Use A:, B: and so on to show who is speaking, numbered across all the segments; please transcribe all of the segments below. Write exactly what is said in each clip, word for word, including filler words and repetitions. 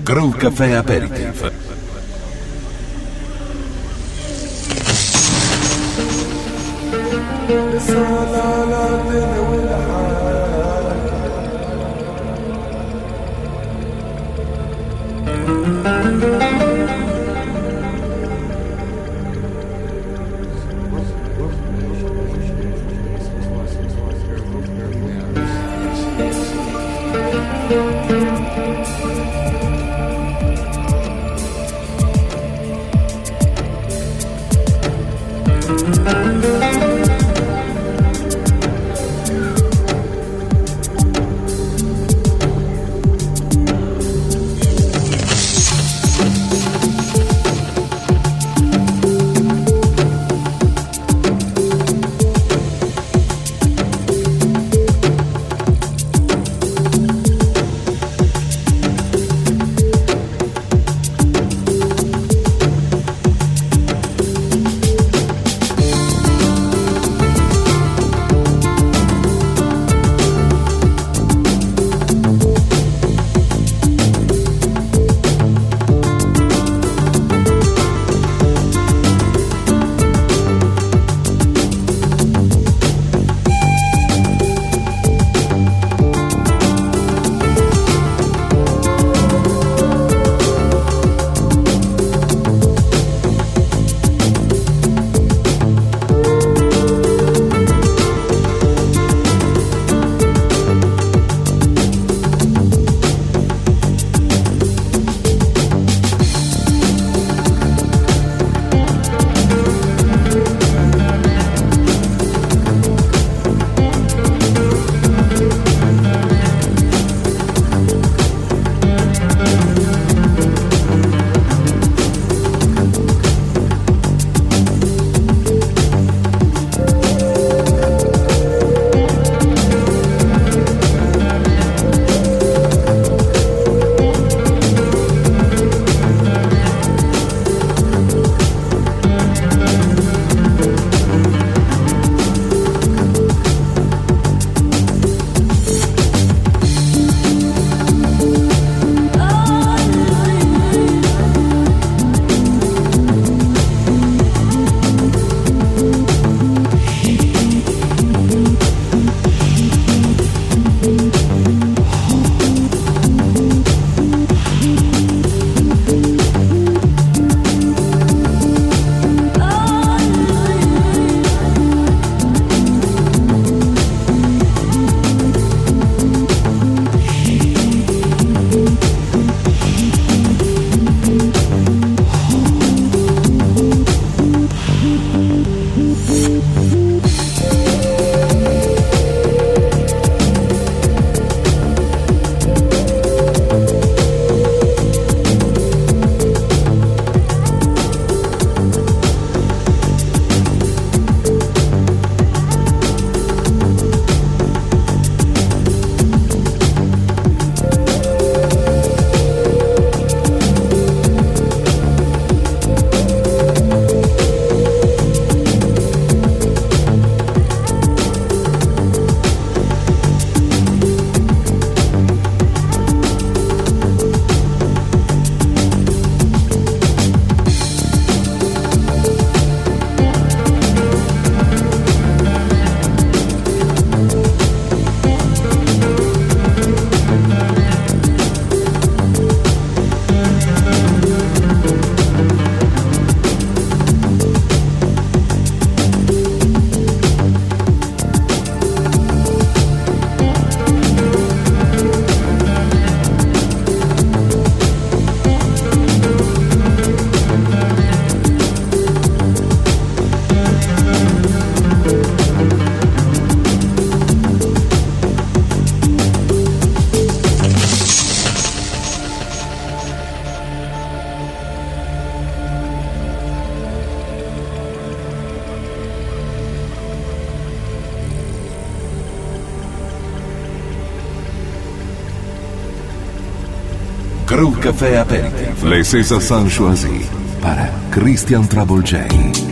A: Groove Café Aperitif.
B: Groove Café Aperitif. Les César choisis para Christian Travolgei.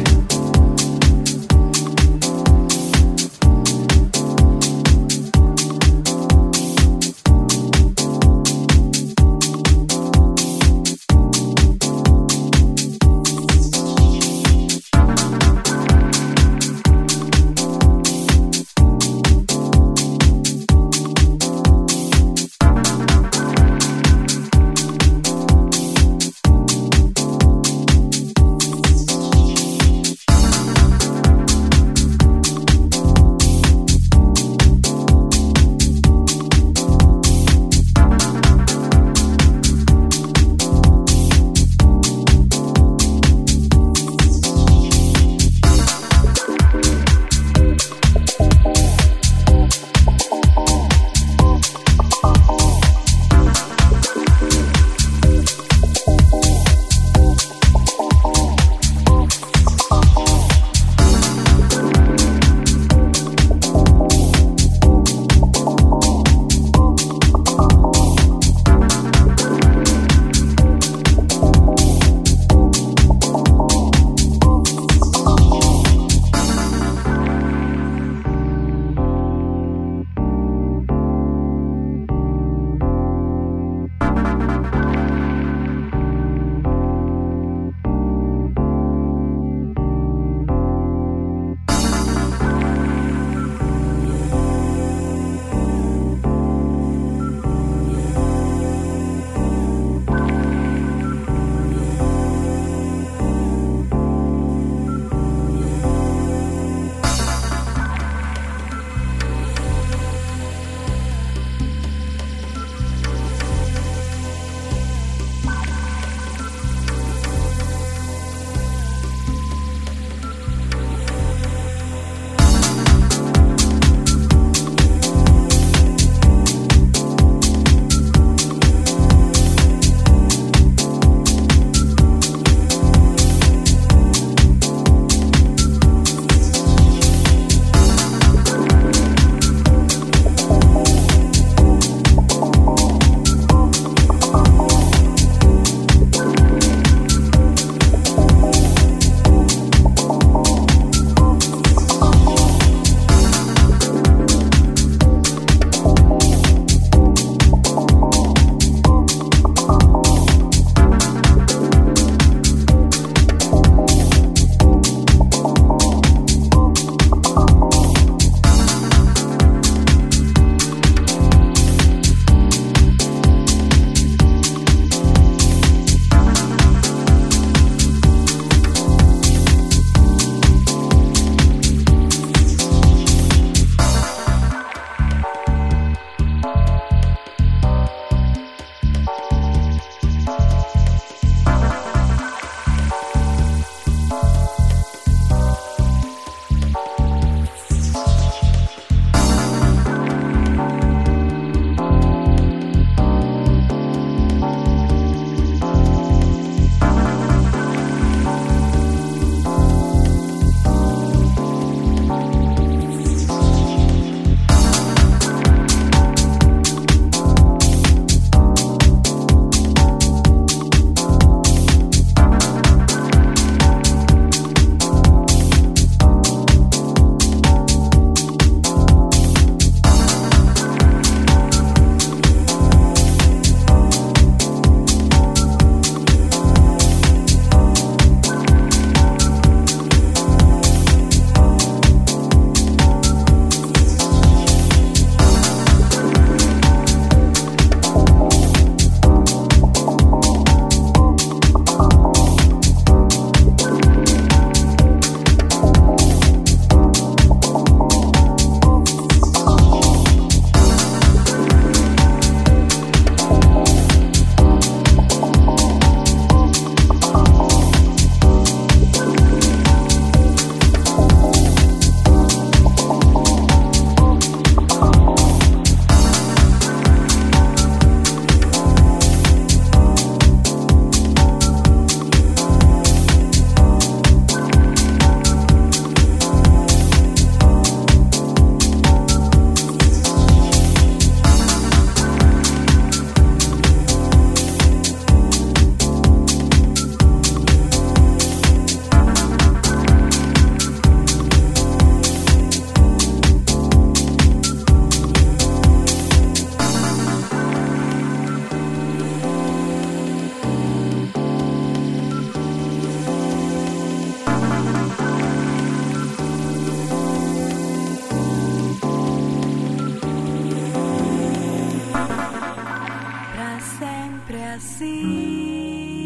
C: assim.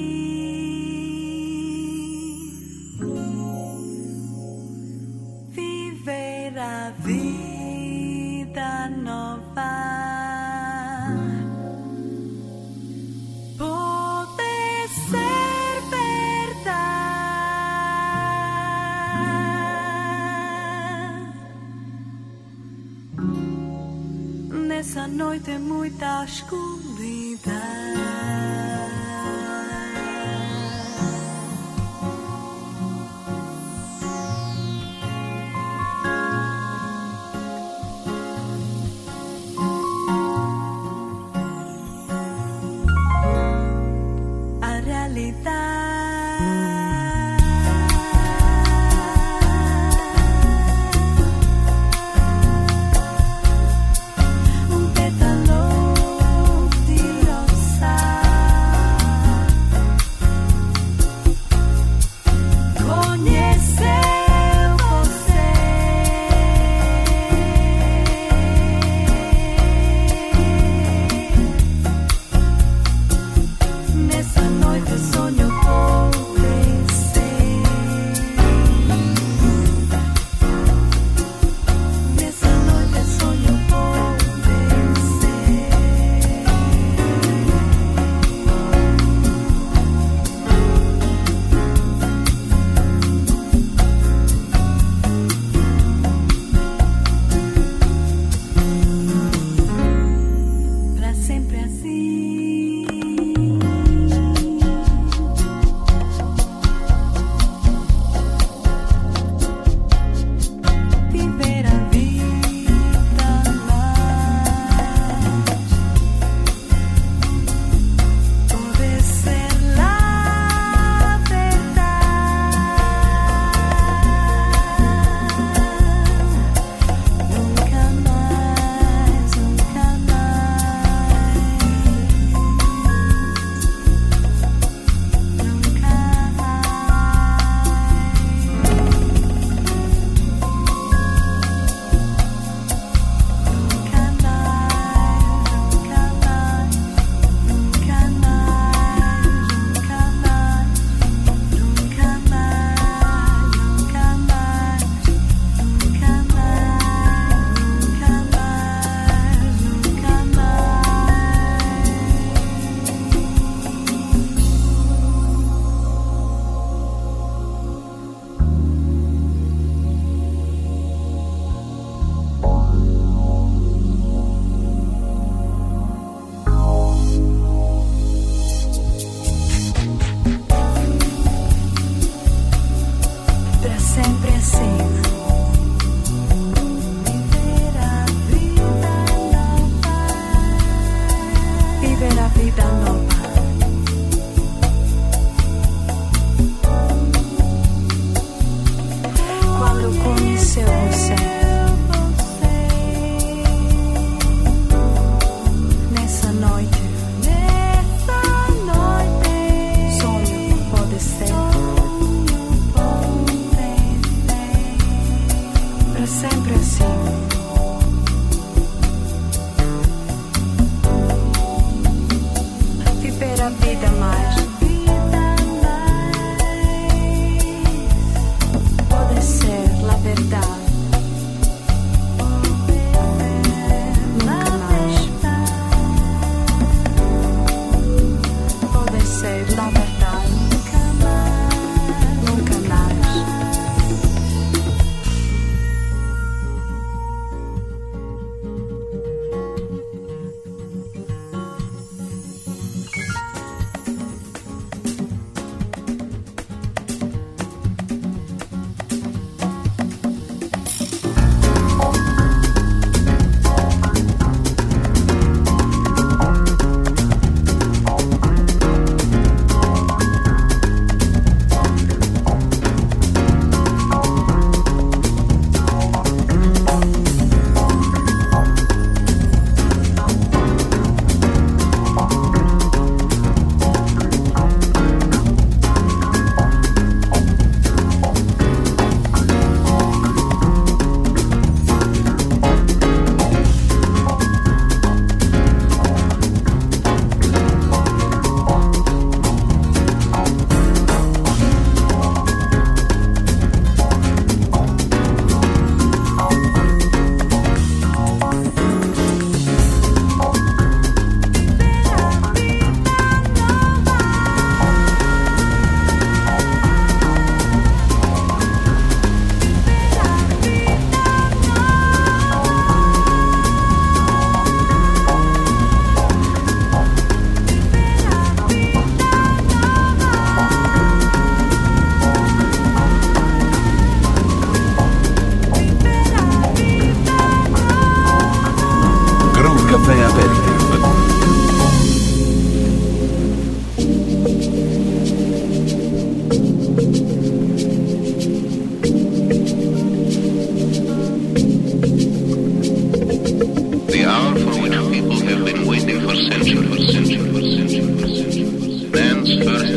C: Viver a vida nova. Pode ser verdade. Nessa noite muita escuridão. Nessa noite sonho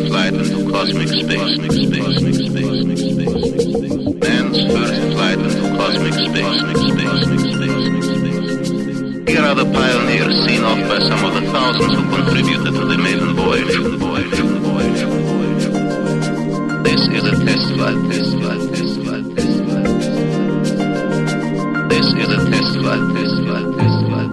D: flight into cosmic space. Man's first flight into cosmic space. Here are the pioneers seen off by some of the thousands who contributed to the maiden voyage. This is a test flight, test flight, test flight, test flight. This is a test flight, test flight, test flight.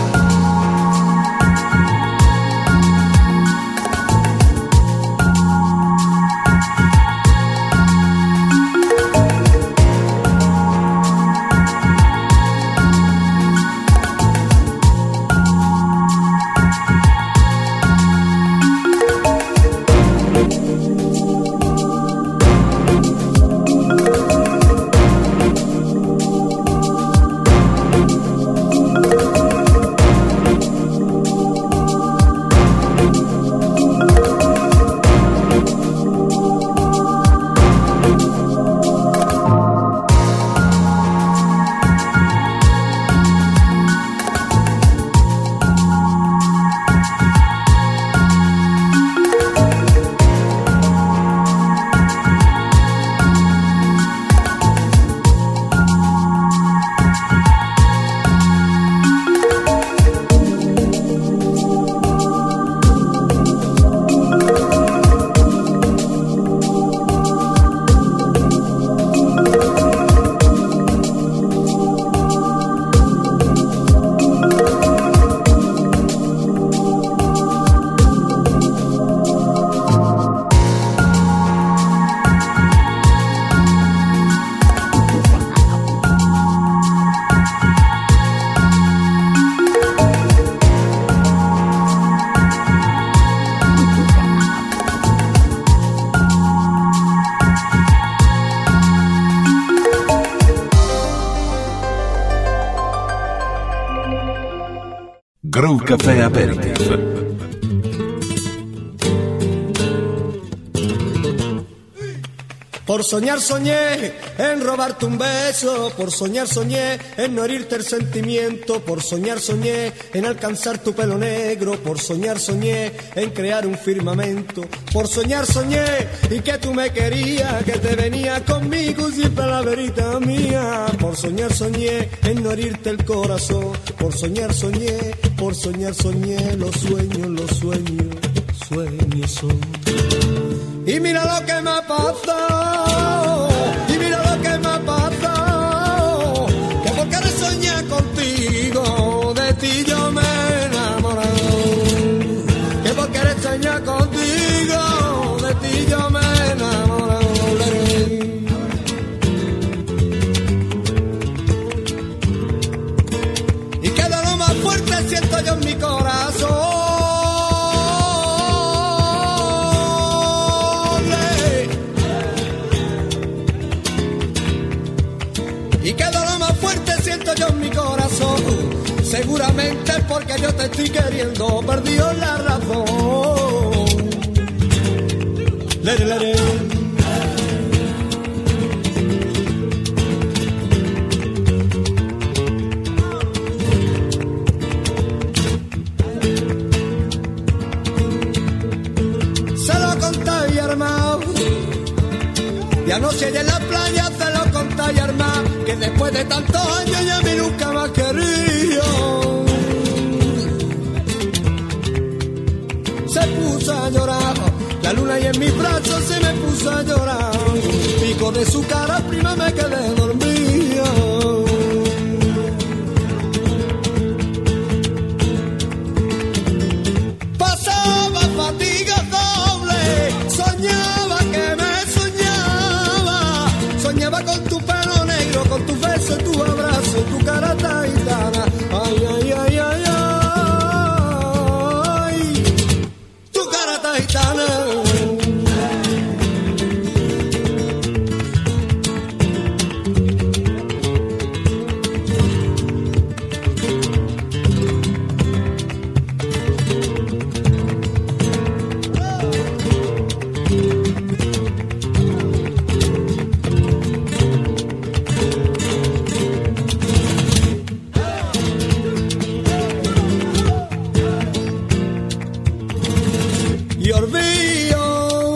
B: Groove Café Aperitif.
E: Por soñar soñé en robarte un beso, por soñar soñé en no herirte el sentimiento, por soñar soñé en alcanzar tu pelo negro, por soñar soñé en crear un firmamento, por soñar soñé y que tú me querías, que te venía conmigo siempre la verita mía, por soñar soñé en no herirte el corazón, por soñar soñé, por soñar soñé, los sueños, los sueños, sueños son. Y mira lo que me ha pasado, y mira lo que me ha pasado, que por querer soñar contigo, de ti yo me he enamorado, que por querer soñar contigo, de ti yo me he enamorado. Y queda lo más fuerte siento yo en mi corazón. Y queda lo más fuerte siento yo en mi corazón. Seguramente porque yo te estoy queriendo, perdió la razón. Lere, lere. Se lo conté y armado, y anoche en la playa se lo conté y armado, que después de tantos años ya a mí nunca más quería. Se puso a llorar, la luna y en mis brazos se me puso a llorar, pico de su cara prima me quedé dormida. Pasaba fatiga doble, soñaba que me soñaba, soñaba con tu pelo negro, con tu beso, tu abrazo, tu cara taitana. Ay, ay, ay, ay, ay, tu cara taitana. Y olvido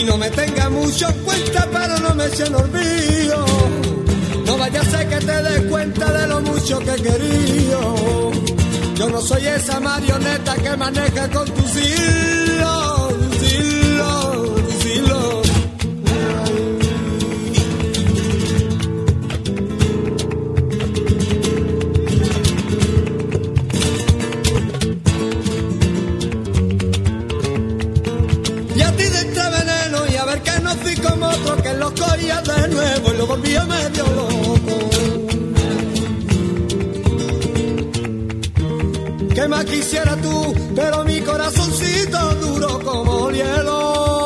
E: Y no me tenga mucho en cuenta, pero no me eche en olvido. No vaya a ser que te des cuenta de lo mucho que he querido. Yo no soy esa marioneta que maneja con tus hilos, tus hilos, tus hilos. Y a ti de este veneno, y a ver que no fui como otro, que lo cogía de nuevo y lo volvía medio loco. ¿Qué más quisiera tú? Pero mi corazoncito duro como el hielo.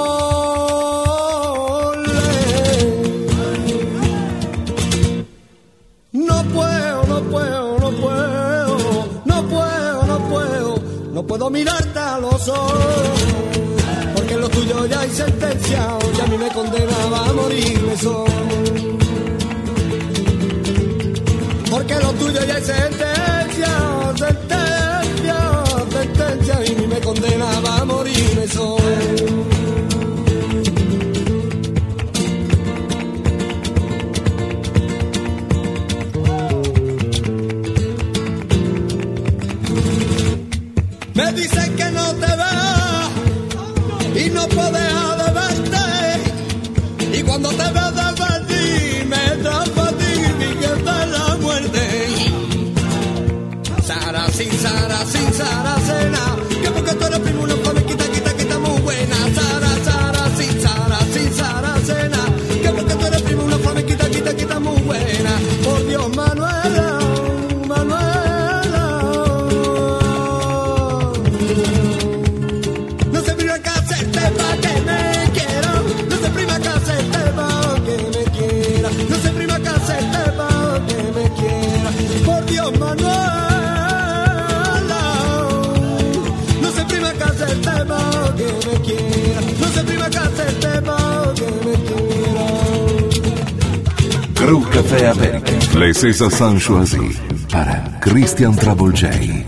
E: No puedo, no puedo, no puedo, no puedo, no puedo, no puedo mirarte a los ojos, porque en lo tuyo ya hay sentencia, y a mí me condenaba a morirme solo. Porque lo tuyo ya hay sentencia, sentencia, sentencia, y me condenaba a morirme solo. Me dicen que no te vas y no puedo dejar de verte, y cuando te veo de partir me da fatiga y que está la muerte. Sara, sin Sara, sin Sara, cena, que porque tú eres primo, una flor, quita, quita, quita muy buena. Sara, Sara, sin Sara, sin Sara, cena, que porque tú eres primo, una flor, quita, quita, quita muy buena. Por Dios, Manuela, Manuela, no se prima que hacerte pa' que me quiera, no se prima que hacerte pa' que me quiera, no se prima que hacerte pa' que me quiera. Por Dios, Manuela, que me quiera, no se prima que hacerte pa' que me quiera.
B: Crew Café Aperitif, les César Sanchoisi para Christian Travolgei.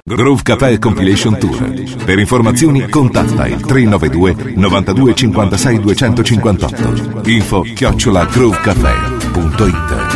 B: Groove Café Compilation Tour. Per informazioni contatta il tre nove due novantadue cinquantasei duecentocinquantotto. Info chiocciola groovecafé punto it.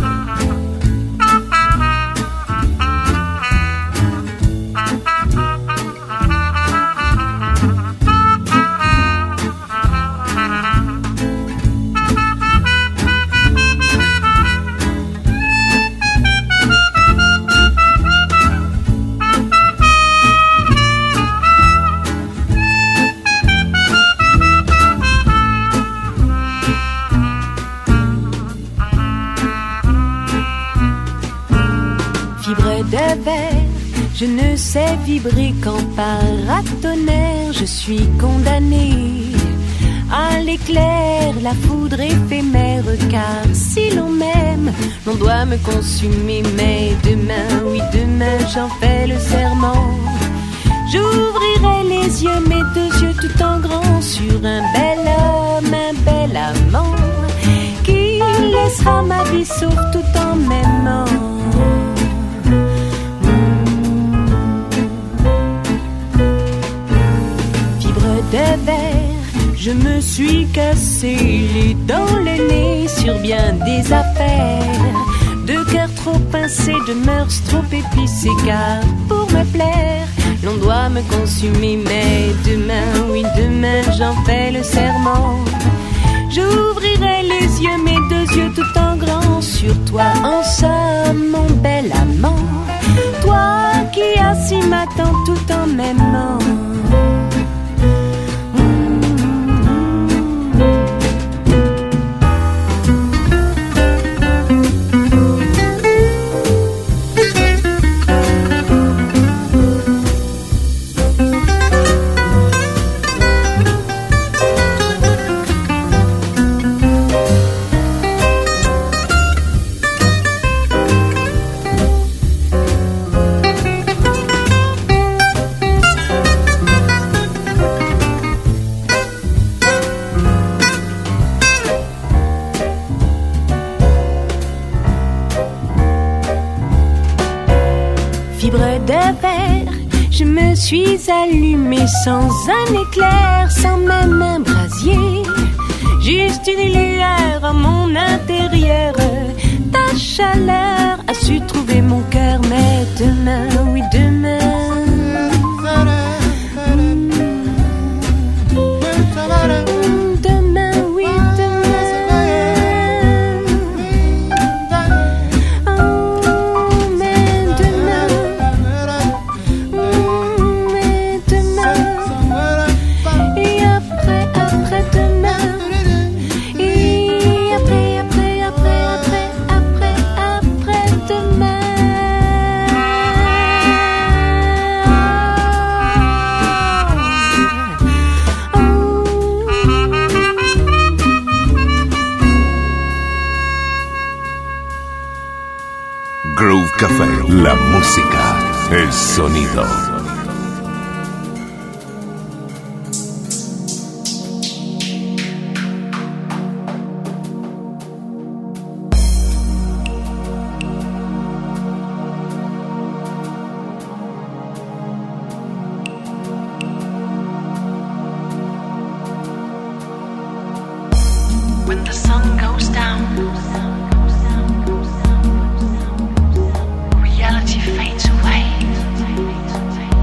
C: Je ne sais vibrer qu'en paratonnerre. Je suis condamnée à l'éclair, la foudre éphémère. Car si l'on m'aime, l'on doit me consumer. Mais demain, oui demain, j'en fais le serment. J'ouvrirai les yeux, mes deux yeux tout en grand, sur un bel homme, un bel amant, qui laissera ma vie sauve tout en m'aimant. De verre, je me suis cassé les dents, le nez sur bien des affaires, de cœur trop pincé, de mœurs trop épicées. Car pour me plaire, l'on doit me consumer. Mais demain, oui demain, j'en fais le serment. J'ouvrirai les yeux, mes deux yeux tout en grand, sur toi en somme, mon bel amant. Toi qui assis m'attends tout en m'aimant. Je me suis allumée sans un éclair, sans même un brasier. Juste une lueur à mon intérieur. Ta chaleur a su trouver mon cœur. Mais demain, oui demain, demain, oui demain, oh, mais demain, mais demain, et après, après demain, et après, après, après, après, après, après demain.
B: Groove Café, la música, el sonido.
F: When the sun goes down, reality fades away.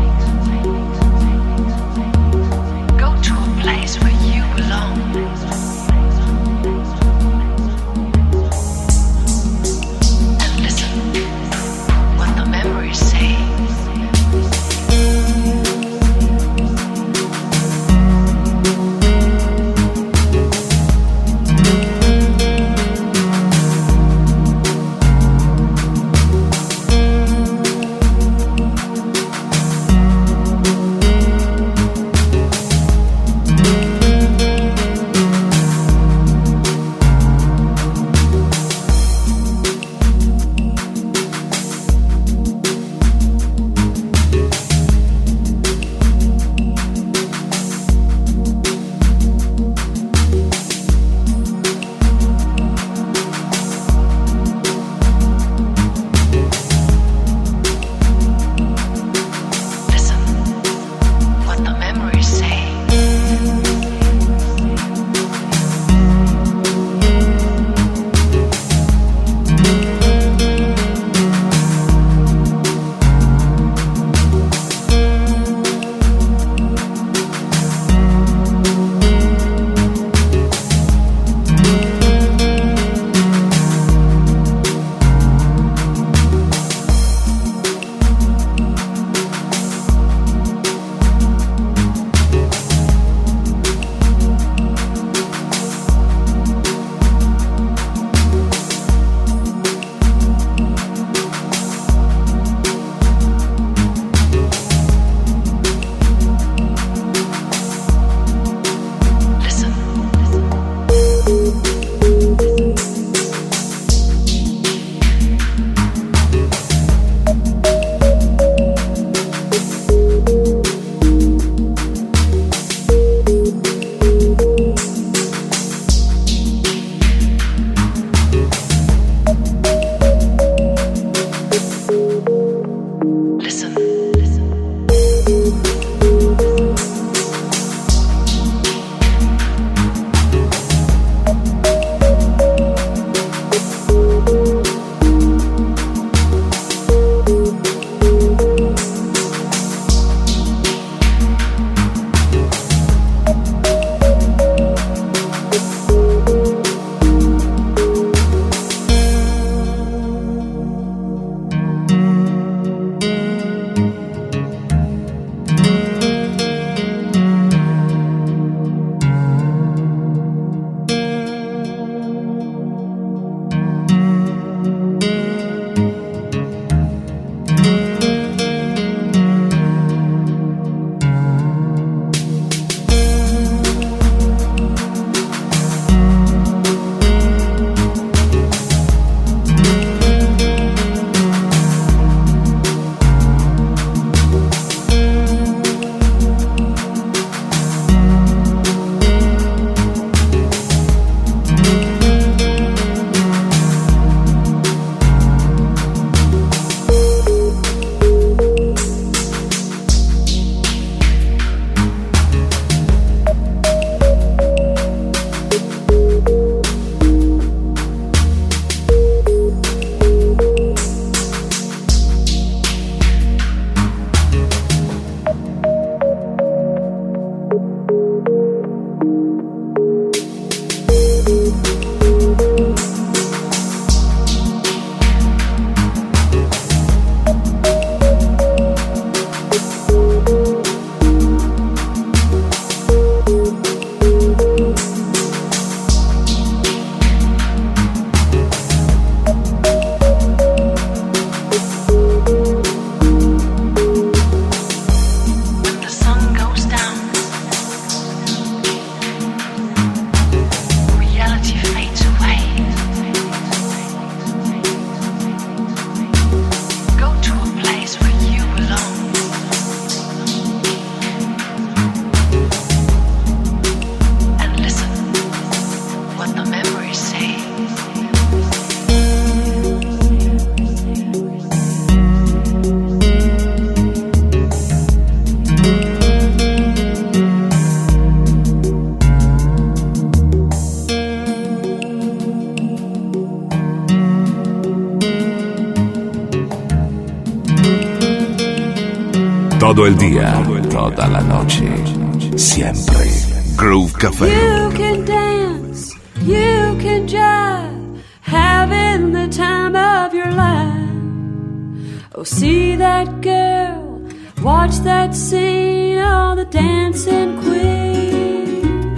B: todo el día, toda la noche, siempre. Groove Café.
C: You can dance, you can jive, having the time of your life. Oh, see that girl, watch that scene, oh, the dancing queen.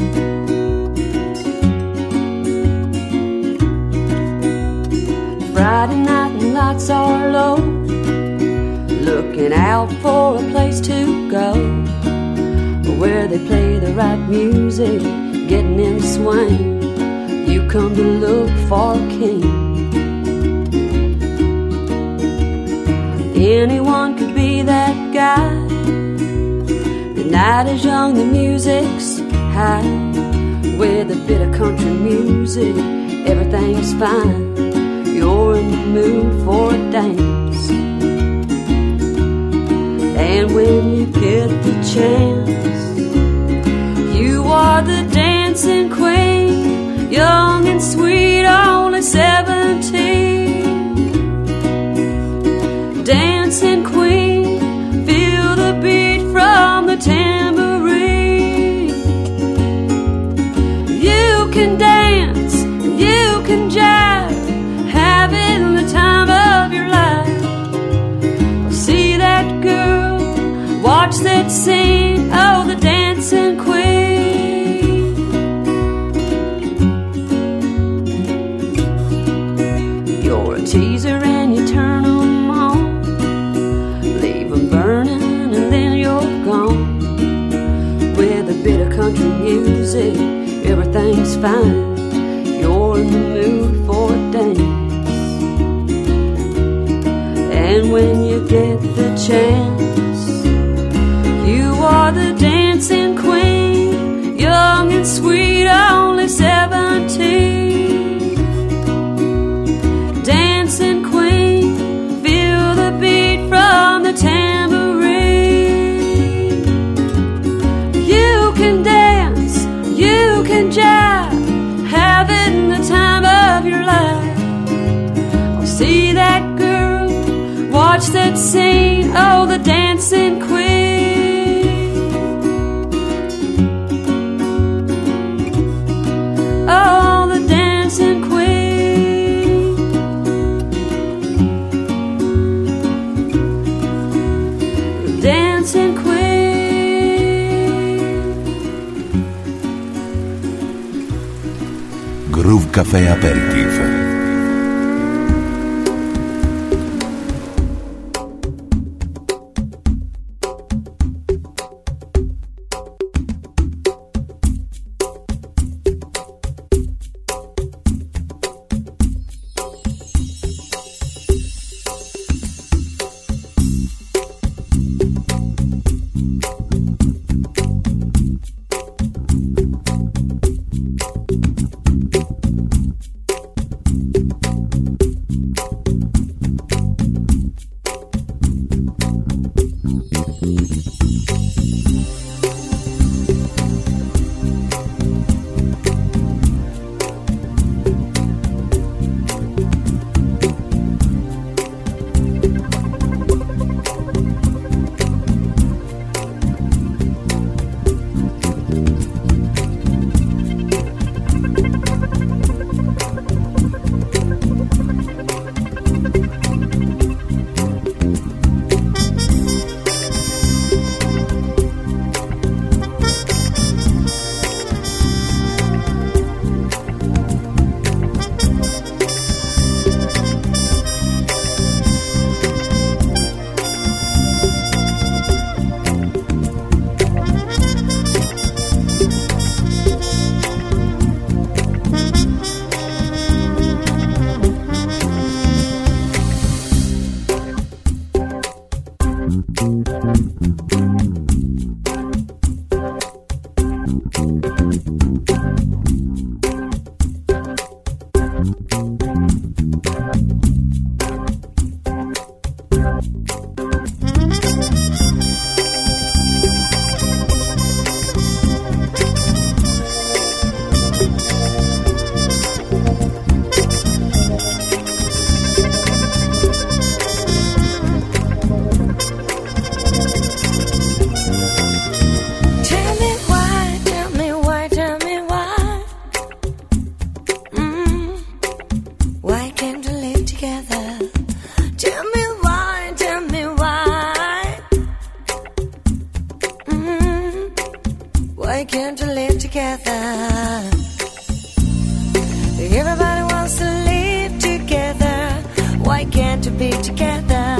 C: Friday night and lights are low, looking out for a place to go, where they play the right music, getting in the swing. You come to look for a king. Anyone could be that guy. The night is young, the music's high. With a bit of country music, everything's fine. You're in the mood for a dance. And when you get the chance, you are the dancing queen, young and sweet, only seventeen. Dancing queen, feel the beat from the tambourine. You can dance, you can jive, having the time of your life. See that girl, watch that scene, oh, the dancing queen. You're a teaser and you turn them on, leave them burning and then you're gone. With a bit of country music, everything's fine. You're in the mood for a dance. And when you get the chance, you are the dancing queen, young and sweet, only seventeen. Dancing queen, feel the beat from the tambourine. You can dance, you can jive, having the time of your life. Oh, see that girl, watch that scene, oh, the dancing queen. Oh, the dancing queen. The dancing queen.
B: Groove Café Aperitif.
C: can't we be together?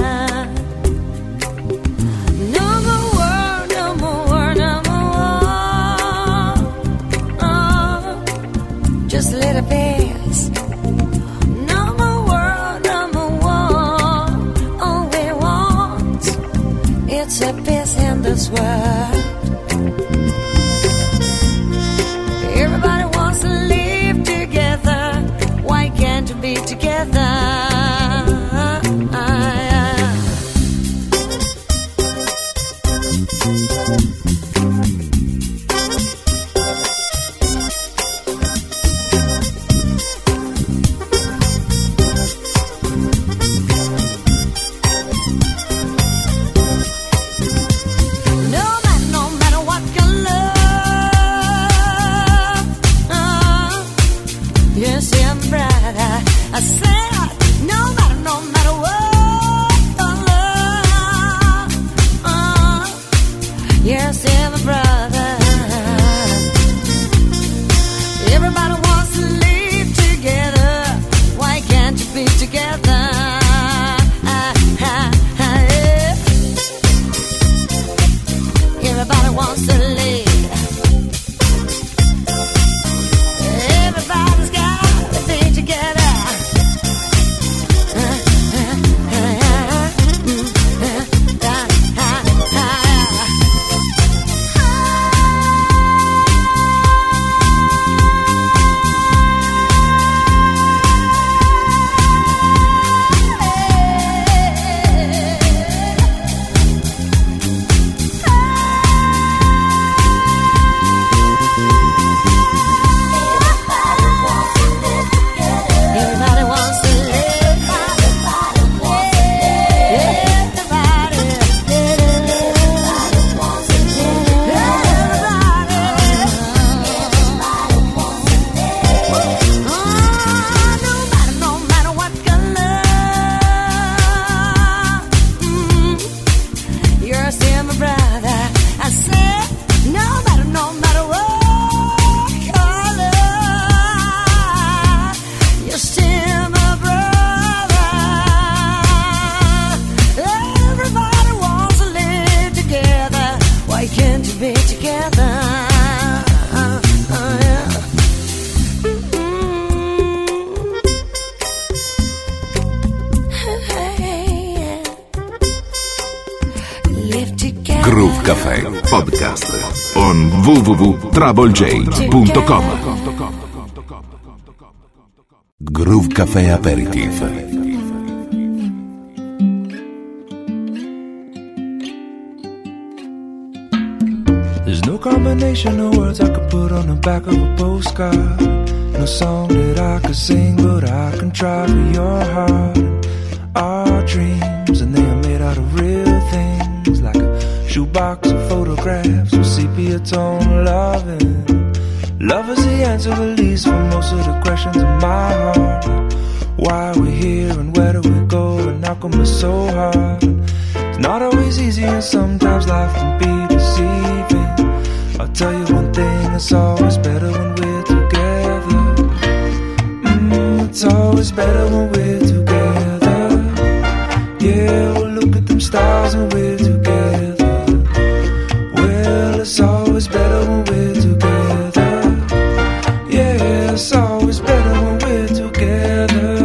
C: No more war, no more war, no more war. Oh, just a little peace. No more war, no more war. All we want, it's a peace in this world. Everybody wants to live together. Why can't we be together?
B: Groove Café Podcast on w w w punto trouble j punto com. Groove Café Aperitif.
F: There's no combination of words I could put on the back of a postcard. No song that I could sing, but I can try for your heart. Our dreams, and they are made out of real things, like a shoebox of photographs with sepia tone loving. Love is the answer, at least, for most of the questions in my heart. Like why are we here and where do we go and how come it's so hard? It's not always easy and sometimes life can be deceiving. I'll tell you one thing, it's always better when we're together. Mm, it's always better when we're together. Yeah, we'll look at them stars when we're together. Well, it's always better when we're together. Yeah, it's always better when we're together.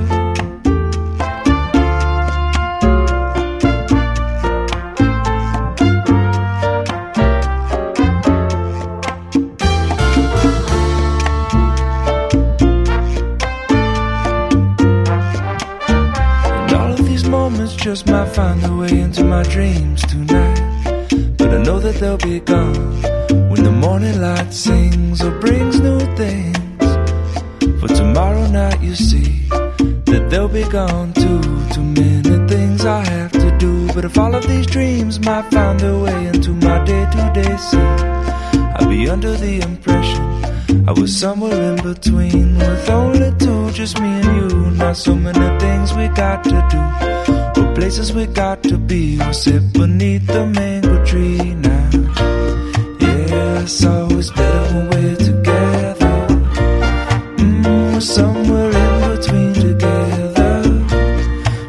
F: Just might find their way into my dreams tonight, but I know that they'll be gone when the morning light sings or brings new things. For tomorrow night you see that they'll be gone too. Too many things I have to do, but if all of these dreams might find their way into my day-to-day scene, I'll be under the impression I was somewhere in between, with only two, just me and you. Not so many things we got to do, or places we got to be. We'll sit beneath the mango tree now. Yeah, it's always better when we're together. Mm, we're somewhere in between together.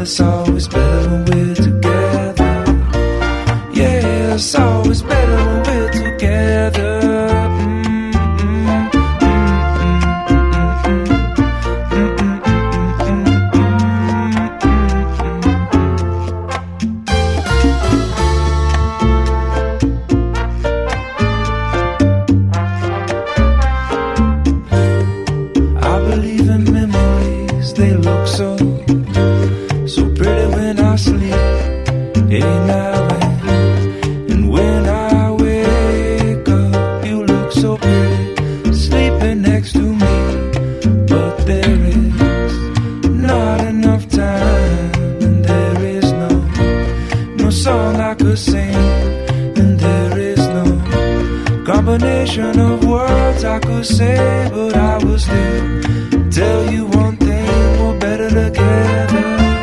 F: it's always better when we're together. Yeah, it's always better when we're together. Combination of words I could say, but I will still tell you one thing: we're better together.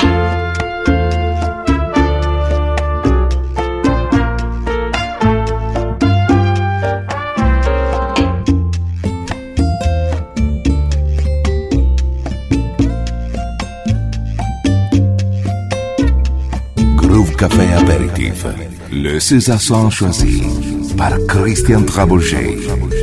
B: Groove Café Apéritif, le César choisi par Christian Trabouget.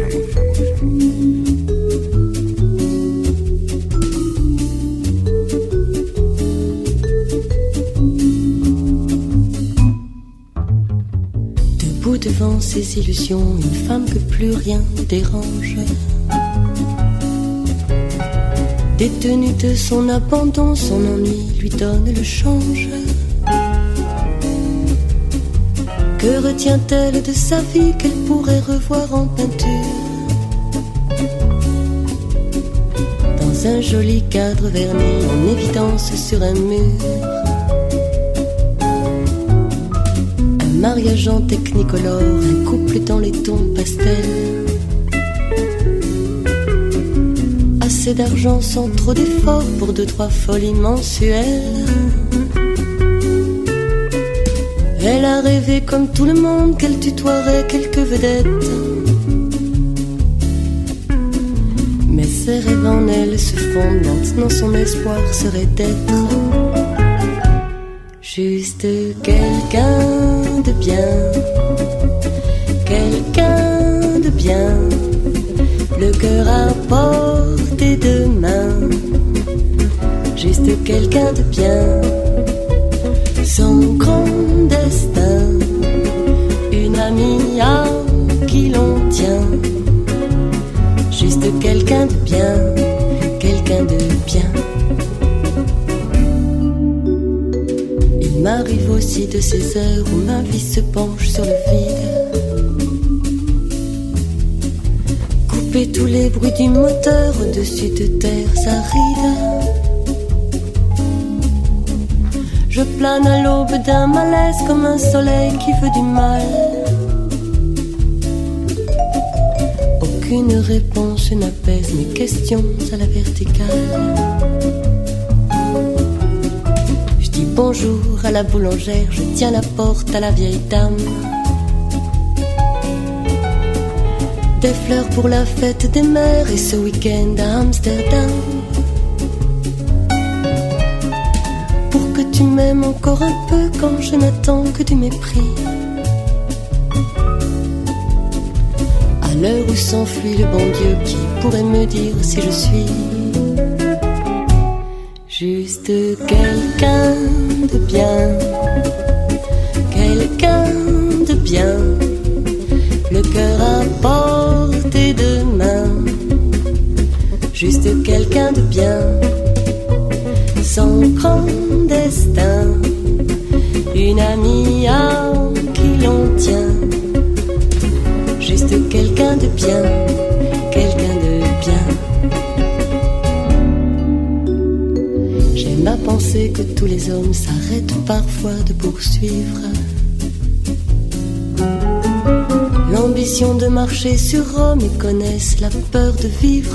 G: Debout devant ses illusions, une femme que plus rien ne dérange. Détenue de son abandon, son ennui lui donne le change. Que retient-elle de sa vie qu'elle pourrait revoir en peinture? Dans un joli cadre verni en évidence sur un mur. Un mariage en technicolore, un couple dans les tons pastels. Assez d'argent sans trop d'efforts pour deux, trois folies mensuelles. Elle a rêvé comme tout le monde qu'elle tutoierait quelques vedettes. Mais ses rêves en elle se fondent, maintenant son espoir serait d'être juste quelqu'un de bien, quelqu'un de bien, le cœur à portée de main, juste quelqu'un de bien. Son grand destin, une amie à qui l'on tient, juste quelqu'un de bien, quelqu'un de bien. Il m'arrive aussi de ces heures où ma vie se penche sur le vide. Couper tous les bruits du moteur au-dessus de terres arides. Je plane à l'aube d'un malaise comme un soleil qui veut du mal. Aucune réponse n'apaise mes questions à la verticale. Je dis bonjour à la boulangère, je tiens la porte à la vieille dame. Des fleurs pour la fête des mères et ce week-end à Amsterdam. Tu m'aimes encore un peu quand je n'attends que du mépris. À l'heure où s'enfuit le bon Dieu, qui pourrait me dire si je suis juste quelqu'un de bien, quelqu'un de bien, le cœur à portée de main, juste quelqu'un de bien. Son grand destin, une amie à qui l'on tient, juste quelqu'un de bien, quelqu'un de bien. J'aime à penser que tous les hommes s'arrêtent parfois de poursuivre l'ambition de marcher sur Rome et connaissent la peur de vivre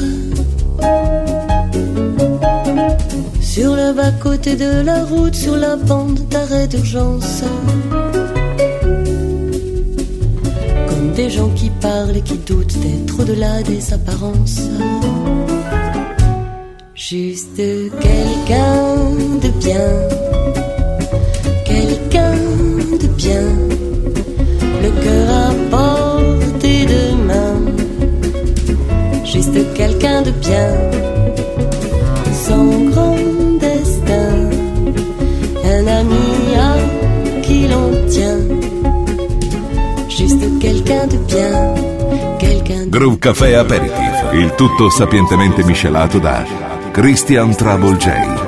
G: sur le bas-côté de la route, sur la bande d'arrêt d'urgence. Comme des gens qui parlent et qui doutent d'être au-delà des apparences. Juste quelqu'un de bien, quelqu'un de bien, sans grand destin, un ami à qui l'on tient, juste quelqu'un de bien, quelqu'un de...
B: Groove Café Aperitif, il tutto sapientemente miscelato da Christian Trouble J.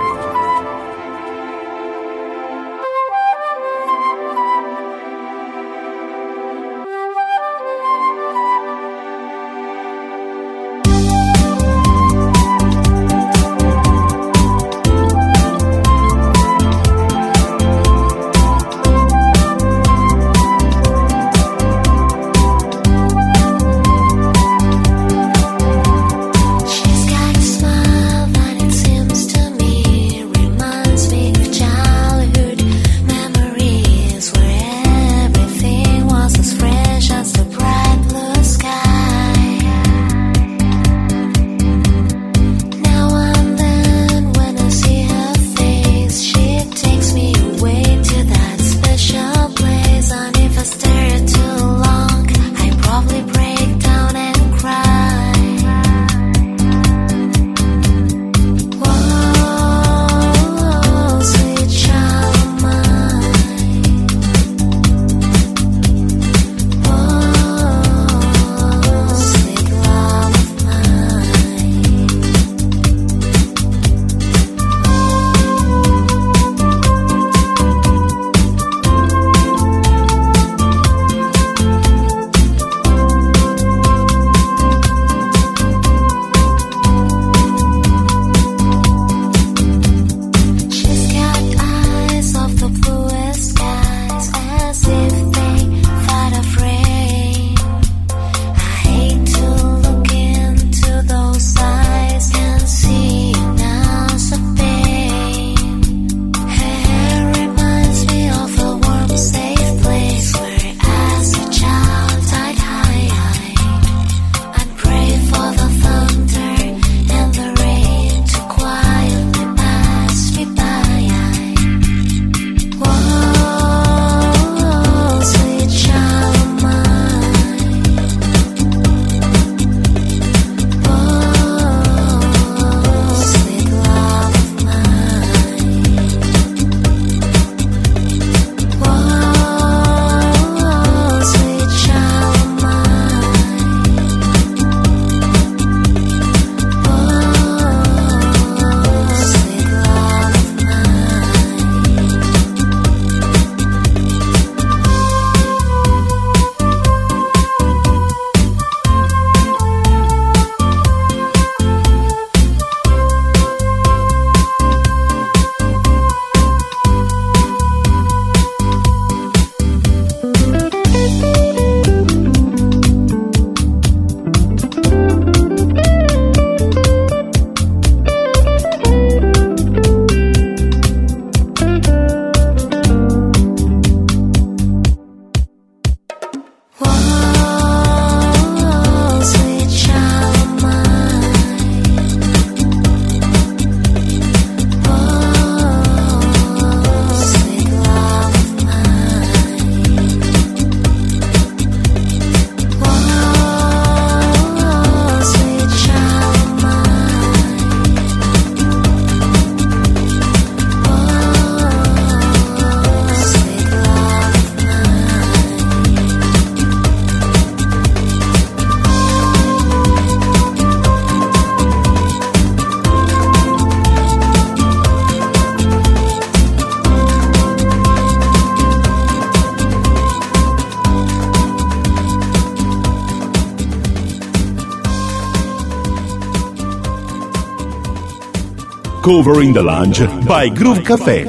H: Covering the Lounge by Groove Café.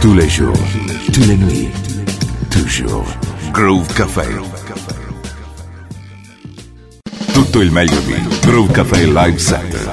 B: tous les jours, toutes les nuits, toujours. Groove Café. Tutto il meglio di Groove Café Live Set.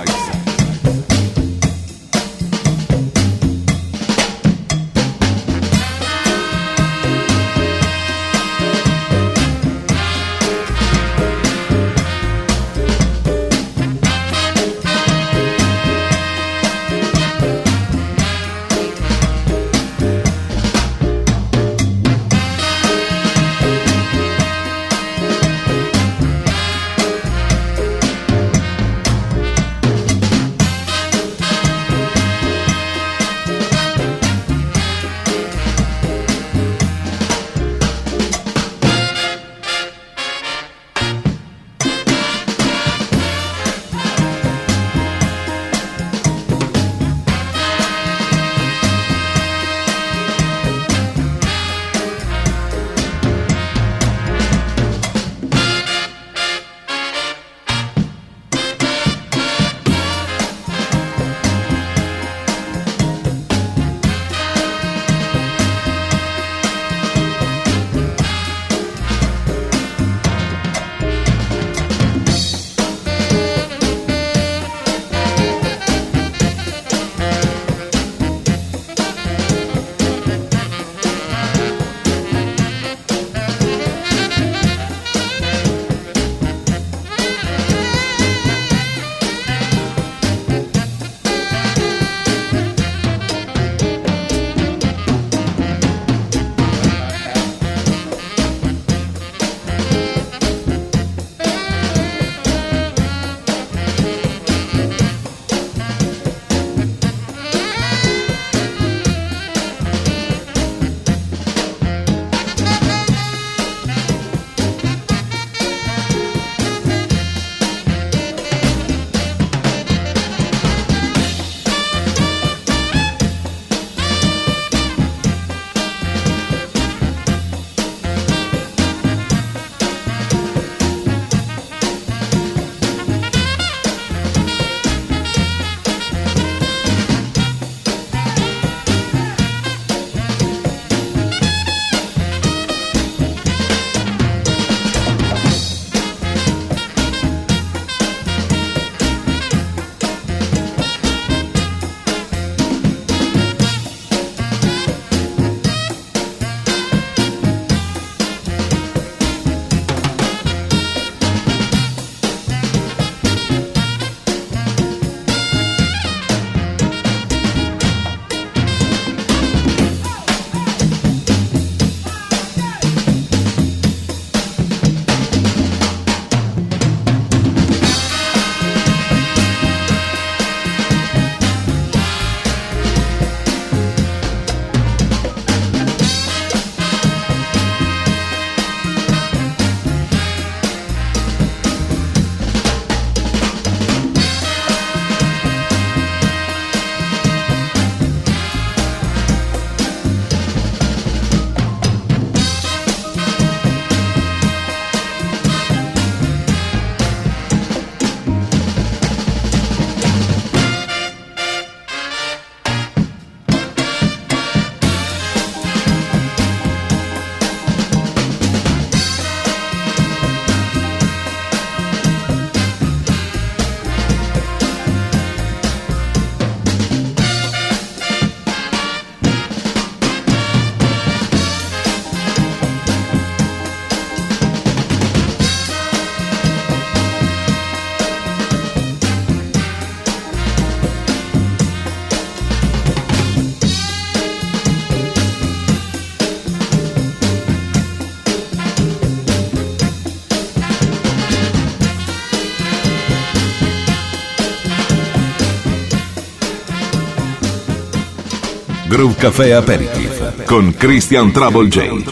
B: Groove Café Aperitif con Christian Trouble J.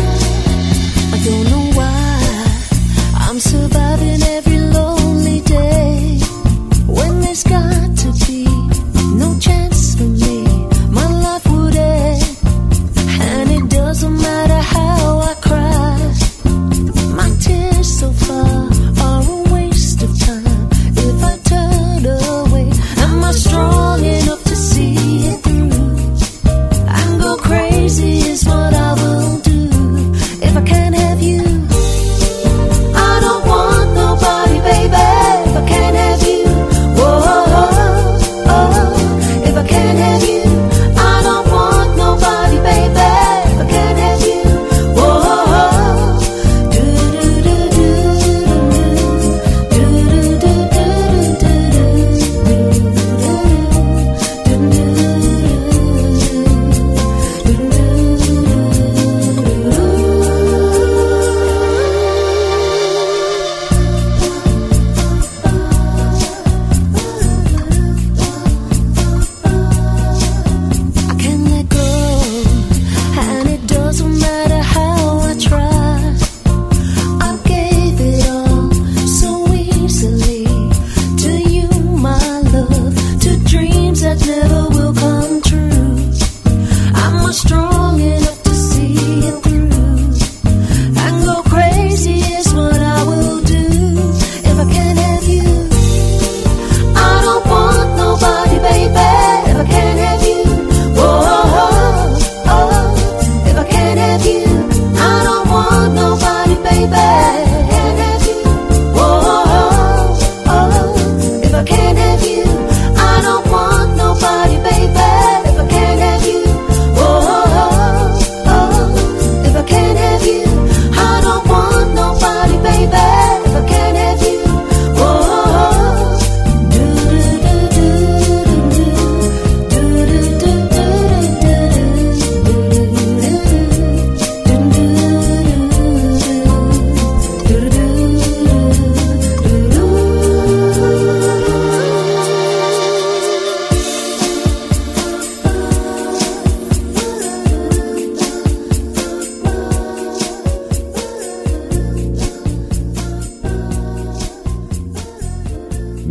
C: Surviving every lonely day.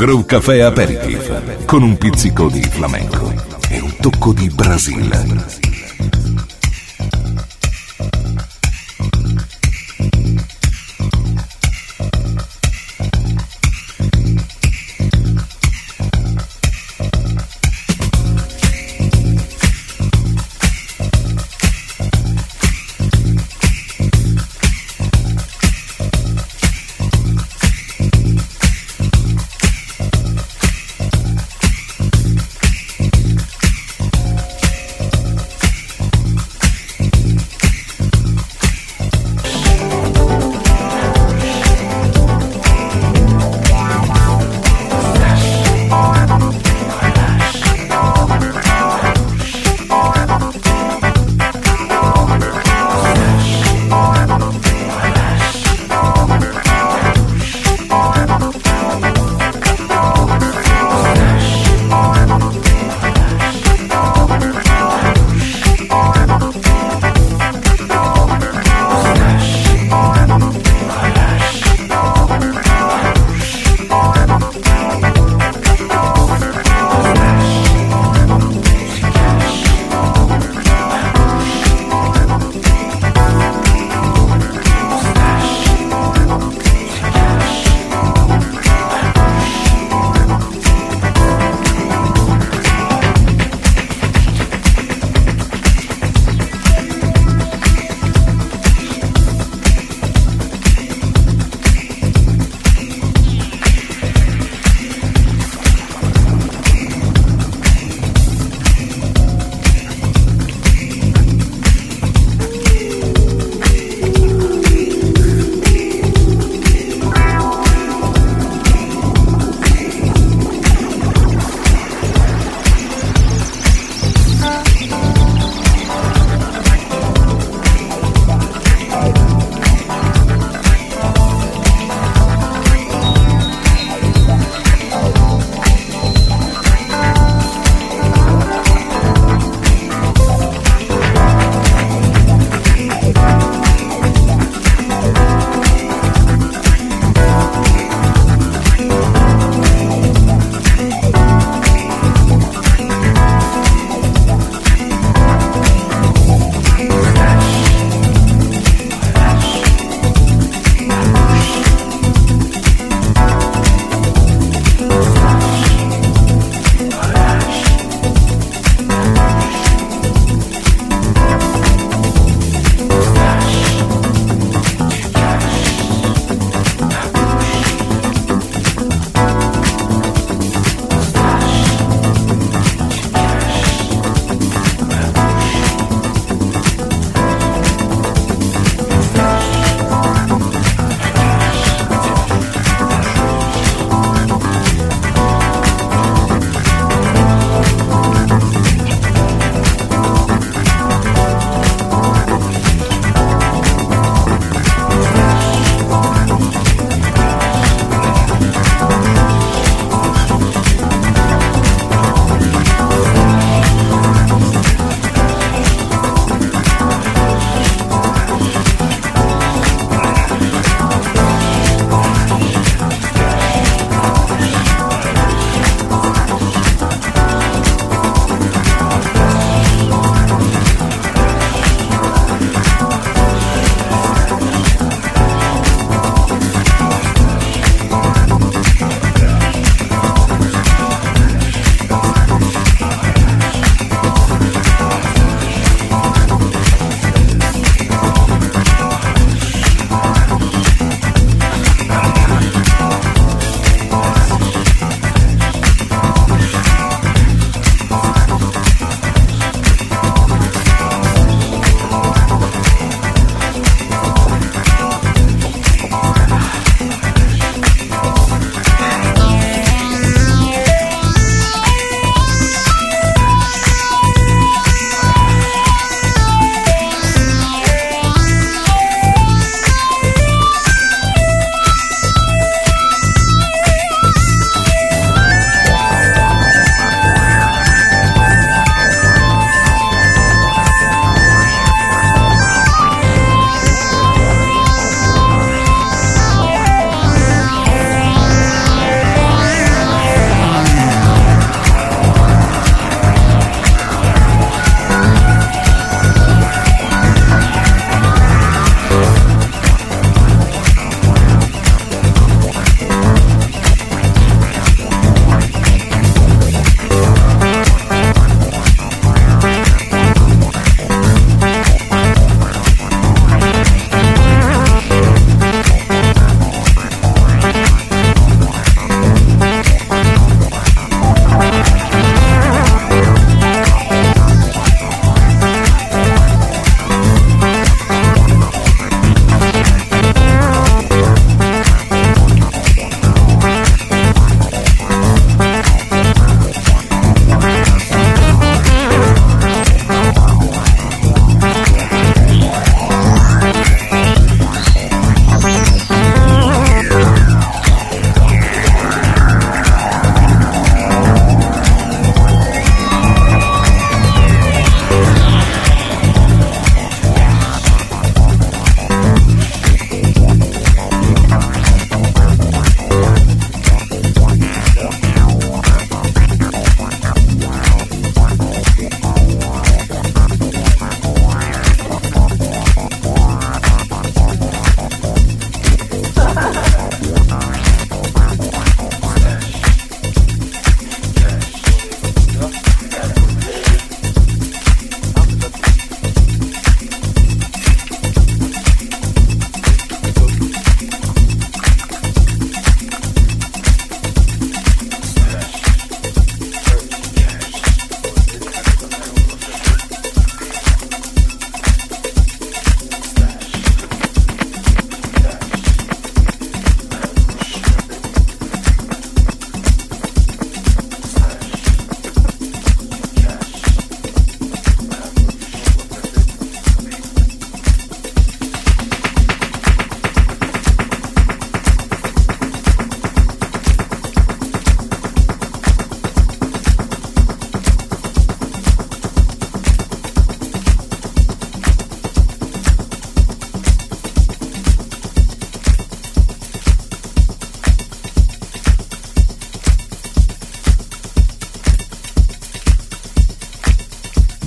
B: Groove Café Aperitif, con un pizzico di flamenco e un tocco di Brasile.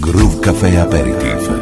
B: Groove Café Aperitif.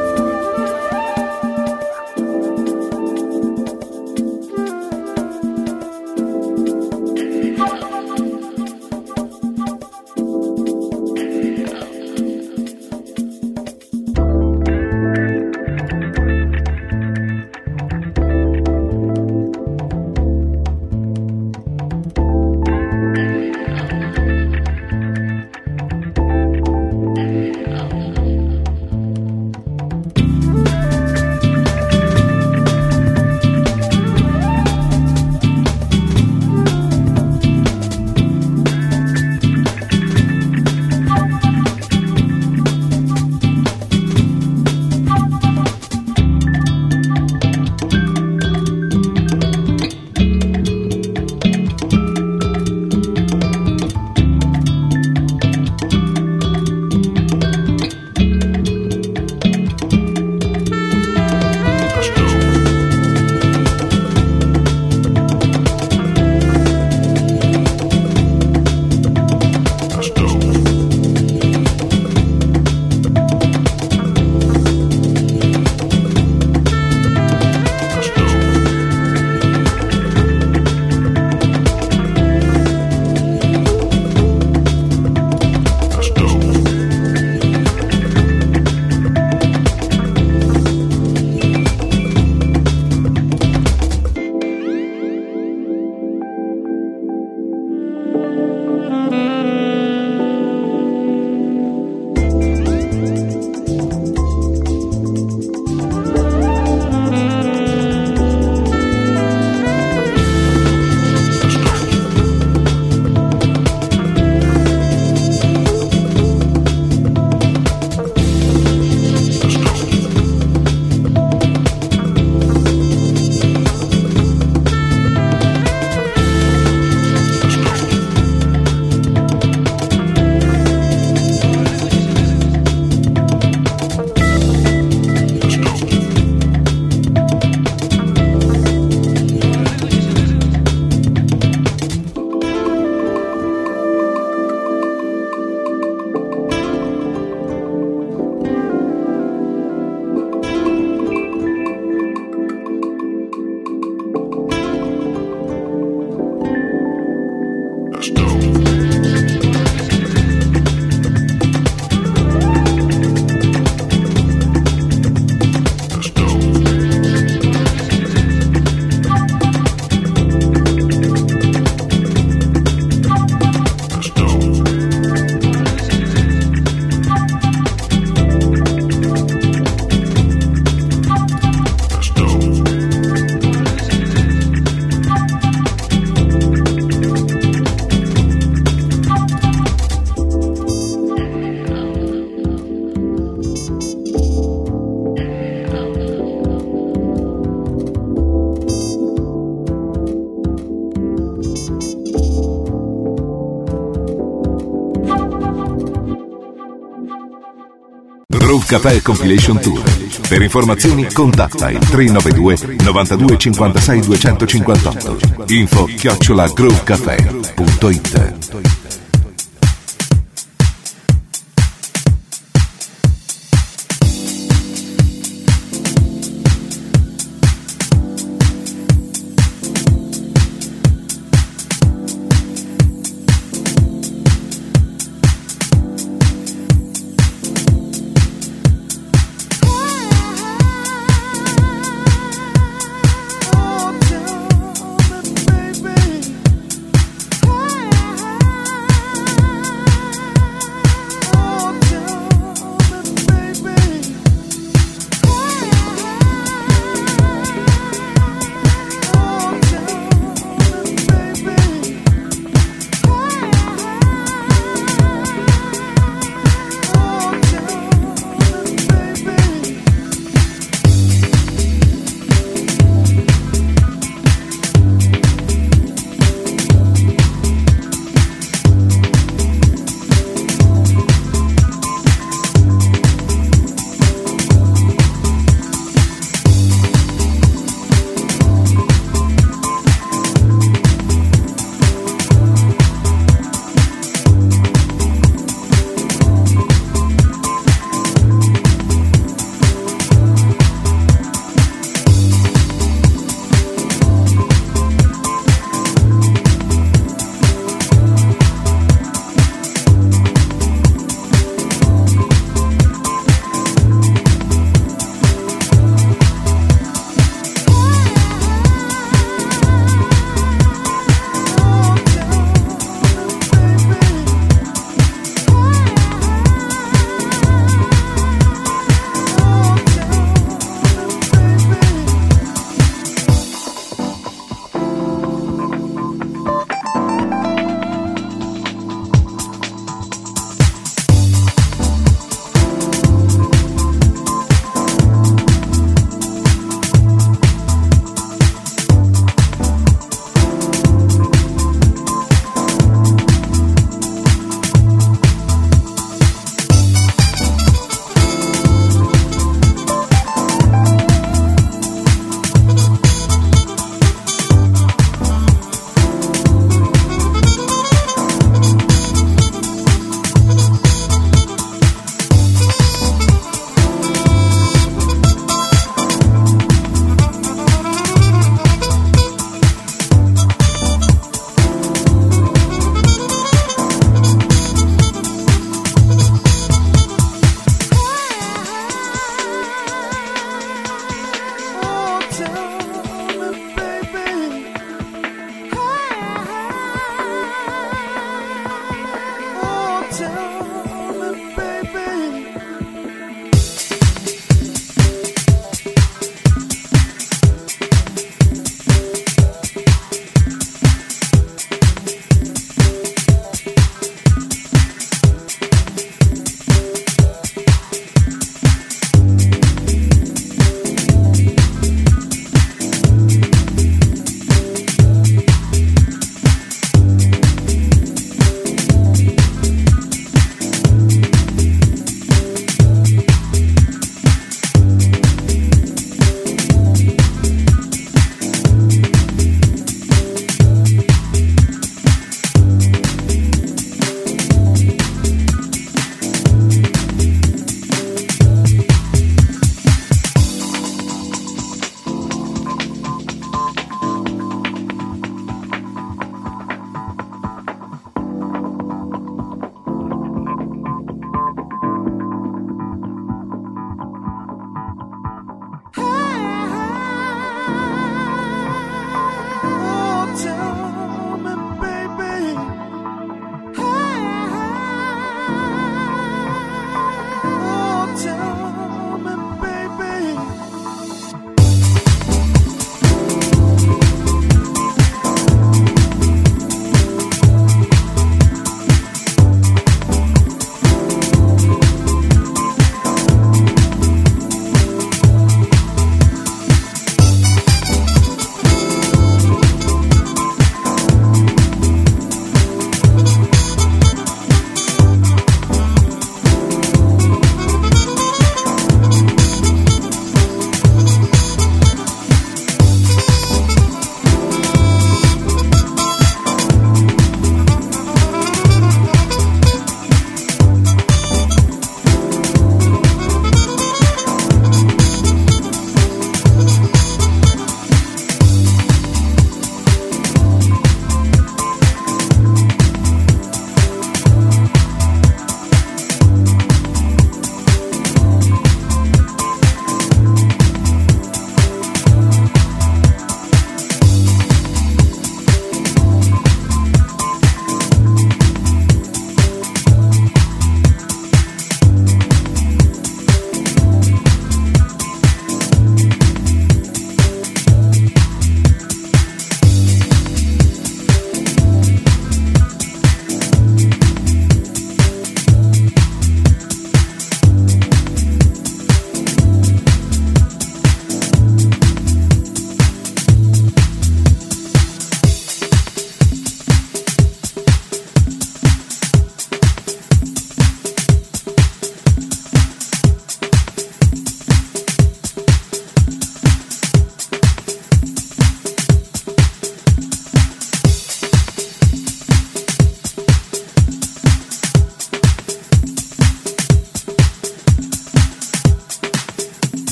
B: Groove Café Compilation Tour. Per informazioni contatta il tre nove due novantadue cinquantasei duecentocinquantotto. Info chiocciola groovecafé punto it.
I: Oh, tell me, baby,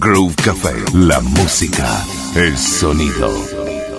B: Groove Café, la música, el sonido.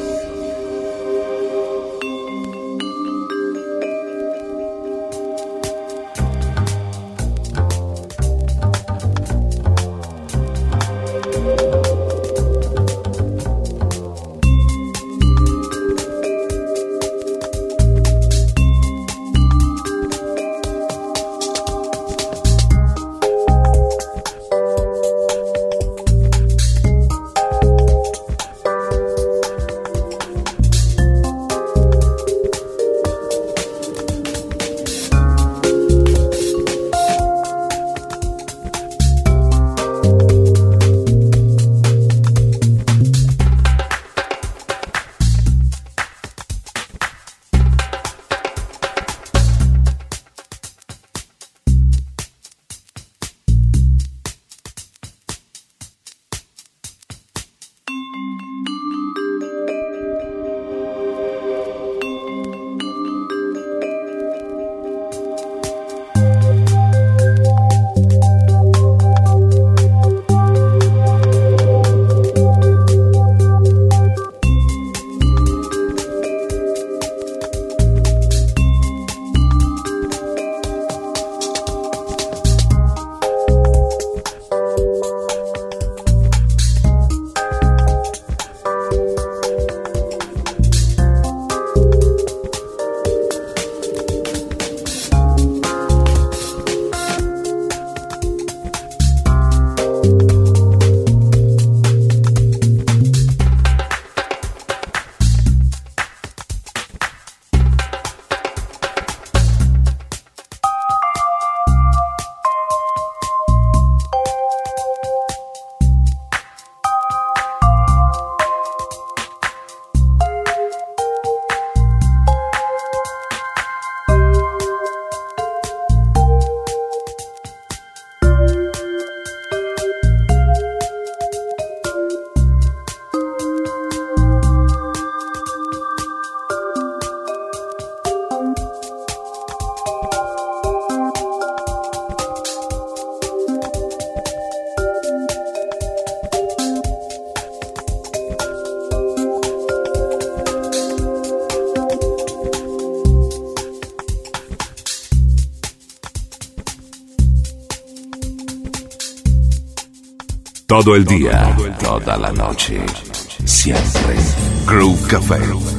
B: Todo el día, toda la noche, siempre. Groove Café.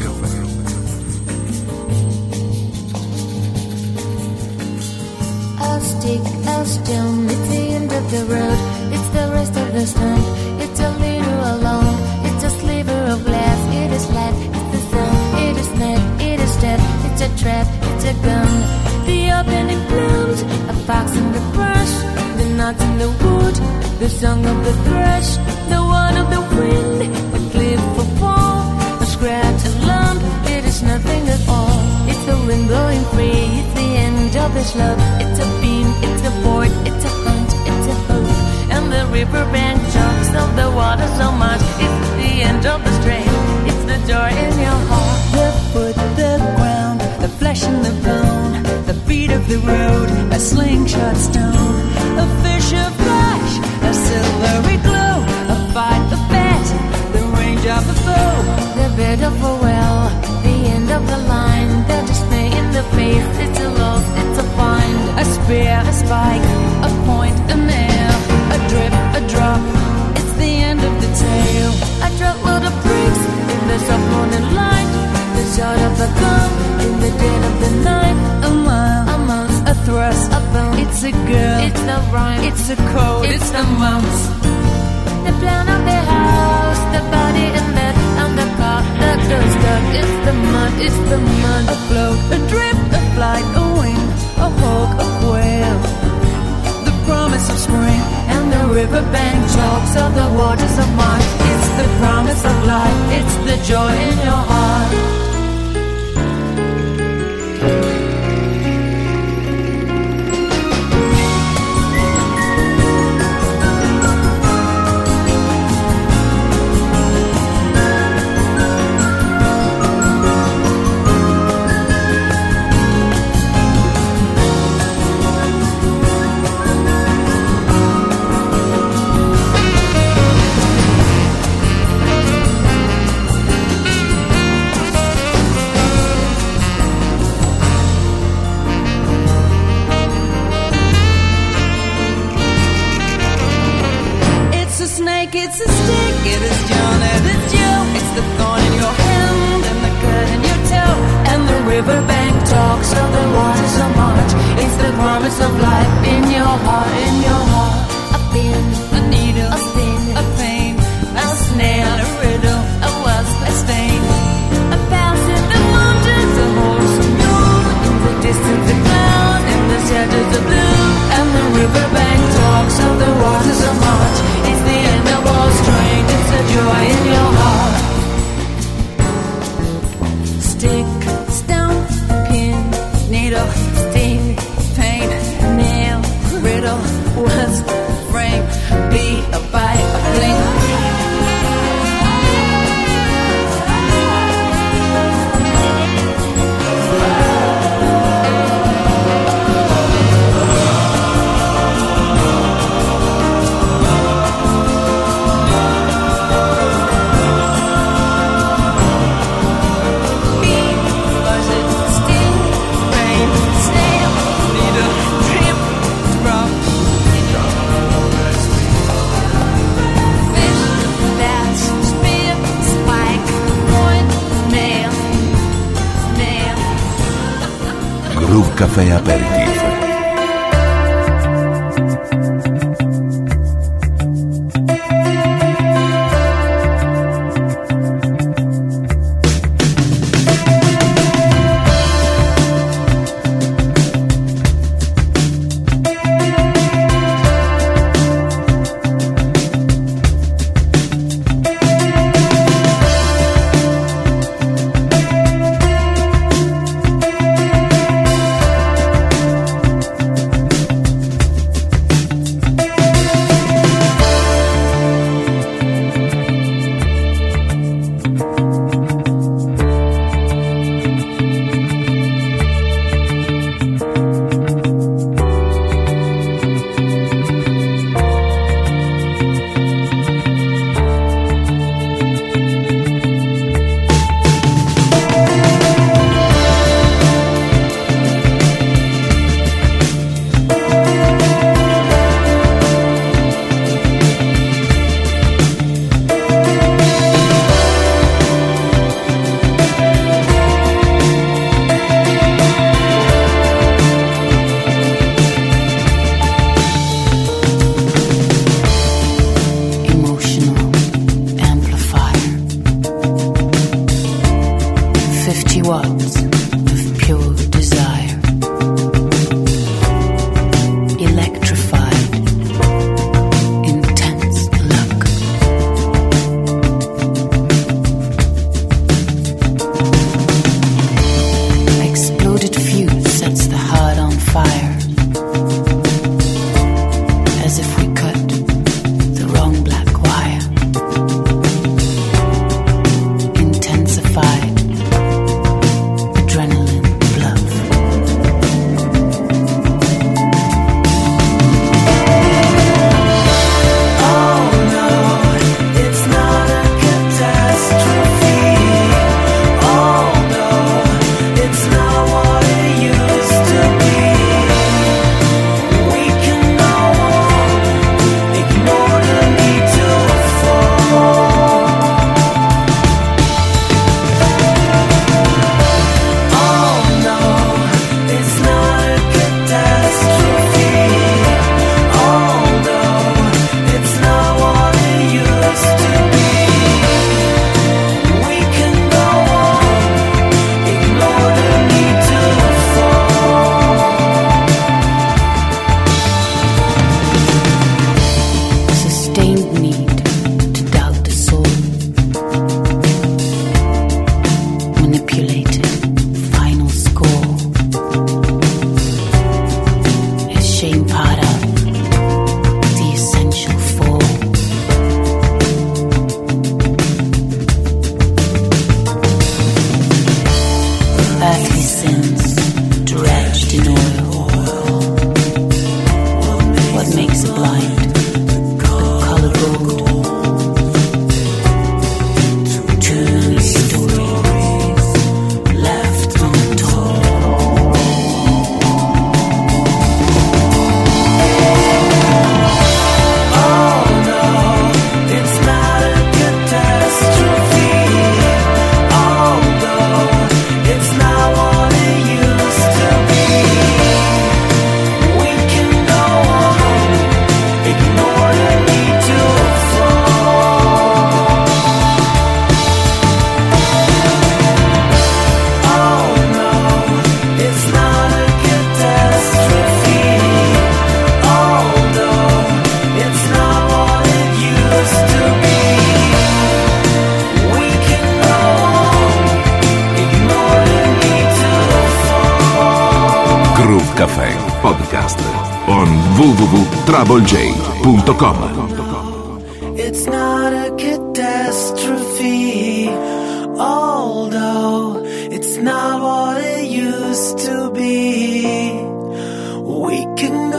I: A stick, a stone, it's the end of the road. It's the rest of the stone. It's a little alone. It's a sliver of glass. It is light. It's the sun. It is night. It is death. It's a trap. It's a gun. The opening blooms. A fox in the brush. The knots in the wood. The song of the thrush, the one of the wind, a cliff, a fall, a scratch, a lump, it is nothing at all. It's the wind blowing free, it's the end of this love. It's a beam, it's a board, it's a hunt, it's a hope. And the riverbank chunks of the water so much, it's the end of the stream, it's the joy in your heart. The foot, the ground, the flesh and the bone, the feet of the road, a slingshot stone, a fish, a flash, a silvery glow, a fight, a bet, the range of a foe, the bed of a well, the end of the line, the dismay in the face, it's a loss, it's a find, a spear, a spike, a point, a nail, a drip, a drop, it's the end of the tale, a truckload of bricks in the soft morning light, the shot of a gun in the dead of the night, a mile, a month, a thrust, a bone, it's a girl, it's the rhyme, it's a code, it's, it's the months. The plan of the house, the body and bed, and the car that goes dark. It's the mud, it's the mud. A float, a drift, a flight, a wing, a hawk, a quail. The promise of spring and the riverbank chalks of the waters of March. It's the promise of life, it's the joy in your heart.
B: Groove Café Aperitif. Café Podcast on w w w punto trouble j punto com.
J: It's not a catastrophe, although it's not what it used to be. We can